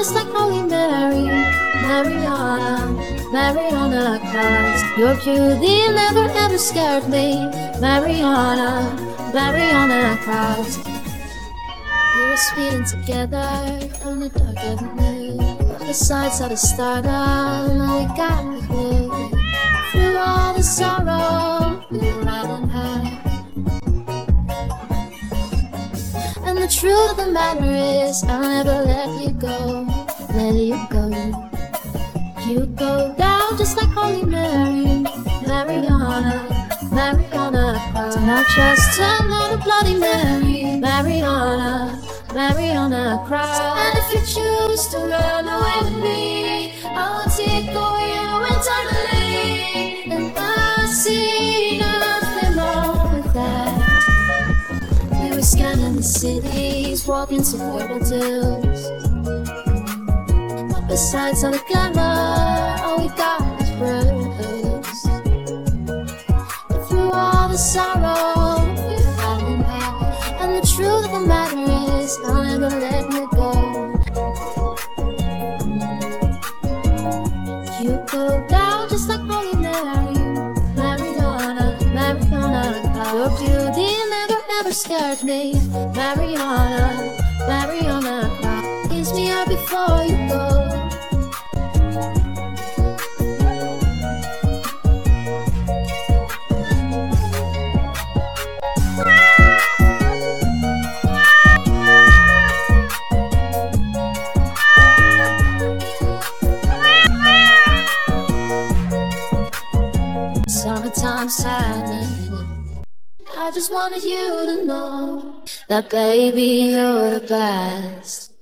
just like Holy Mary, Mariana, Mariana Christ. Your beauty never ever scared me, Mariana, Mariana Christ. We were speeding together on the dark avenue. The sights of the stardom, now we got me. Through all the sorrow, we were riding high. And the truth of the matter is, I'll never let you go, let you go. You go down just like Holy Mary, Mariana, Mariana Christ. And I just turn on a Bloody Mary, Mariana, Mariana Christ. And if you choose to run away with me, I will take away you entirely. And I see nothing wrong with that. We were scanning the cities, walking toward the hills. But besides all the glamour, all we got is bruise. But through all the sorrow, we're falling out. And the truth of the matter is, I'll never let me go. You go down just like Holy Mary, Mariana, Mariana. Your beauty never ever scared me, Mariana, Mariana. Kiss me up before you go. Summertime sadness. I just wanted you to know that baby, you're the best.